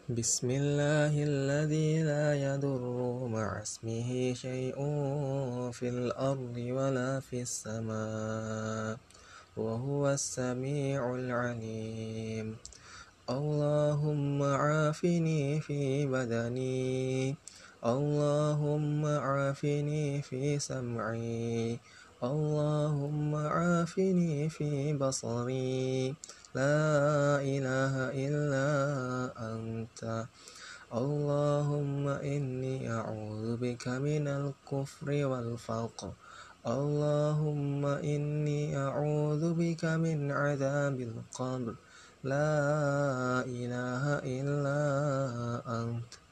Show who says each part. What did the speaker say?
Speaker 1: بسم الله الذي لا يضر مع اسمه شيء في الأرض ولا في السماء وهو السميع العليم. اللهم عافني في بدني، اللهم عافني في سمعي، اللهم عافني في بصري، لا إله إلا أنت. اللهم إني أعوذ بك من الكفر والفقر، اللهم إني أعوذ بك من عذاب القبر، لا إله إلا أنت.